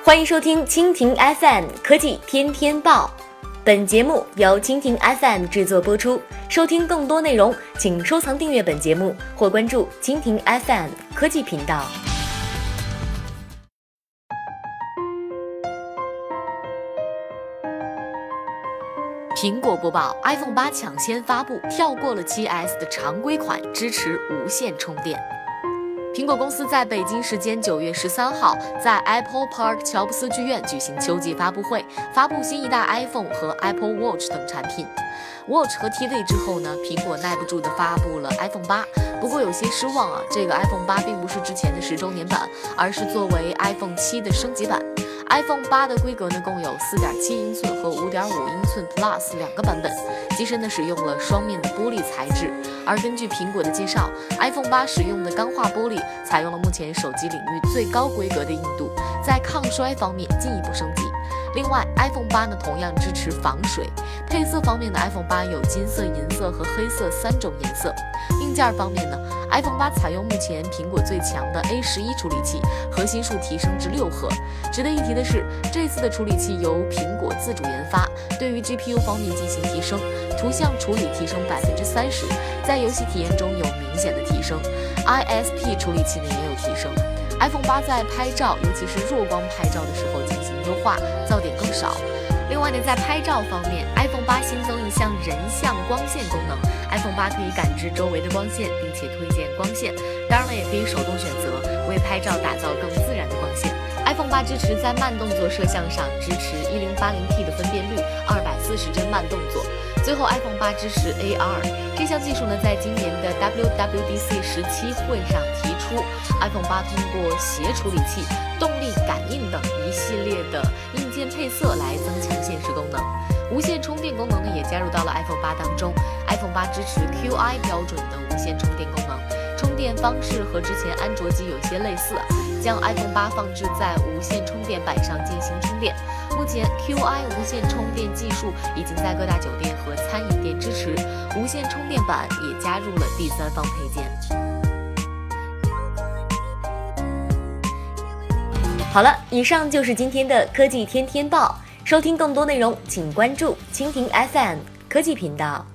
欢迎收听蜻蜓 FM 科技天天报，本节目由蜻蜓 FM 制作播出。收听更多内容，请收藏订阅本节目或关注蜻蜓 FM 科技频道。苹果播报 iPhone 8抢先发布，跳过了 7S 的常规款，支持无线充电。苹果公司在北京时间9月13号在 Apple Park 乔布斯剧院举行秋季发布会，发布新一代 iPhone 和 Apple Watch 等产品。Watch 和 TV 之后呢，苹果耐不住地发布了 iPhone 8。不过有些失望啊，这个 iPhone 8并不是之前的10周年版，而是作为 iPhone 7的升级版。iPhone 8的规格呢，共有4.7英寸和5.5英寸 Plus 两个版本，机身呢使用了双面的玻璃材质。而根据苹果的介绍 ，iPhone 8使用的钢化玻璃采用了目前手机领域最高规格的硬度，在抗摔方面进一步升级。另外 ，iPhone 8呢同样支持防水。配色方面呢 ，iPhone 8有金色、银色和黑色3种颜色。硬件方面呢 ，iPhone 8采用目前苹果最强的 A11 处理器，核心数提升至6核。值得一提的是，这次的处理器由苹果自主研发，对于 GPU 方面进行提升，图像处理提升30%，在游戏体验中有明显的提升。ISP 处理器呢也有提升。iPhone 8在拍照，尤其是弱光拍照的时候进行优化，噪点更少。另外呢，在拍照方面 ，iPhone 8新增一项人像光线功能 ，iPhone 8可以感知周围的光线，并且推荐光线。当然了，也可以手动选择，为拍照打造更自然的光线。iPhone 8支持在慢动作摄像上支持 1080P 的分辨率，240帧慢动作。最后 iPhone 8支持 AR， 这项技术呢，在今年的 WWDC 17会上提出。iPhone 8通过协处理器、动力感应等一系列的硬件配色来增强现实功能。无线充电功能呢，也加入到了 iPhone 8当中。iPhone 8支持 QI 标准的无线充电功能，充电方式和之前安卓机有些类似，将 iPhone 8放置在无线充电板上进行充电。目前 QI 无线充电技术已经在各大酒店和餐饮店支持，无线充电板也加入了第三方配件。好了，以上就是今天的科技天天报。收听更多内容，请关注蜻蜓 FM 科技频道。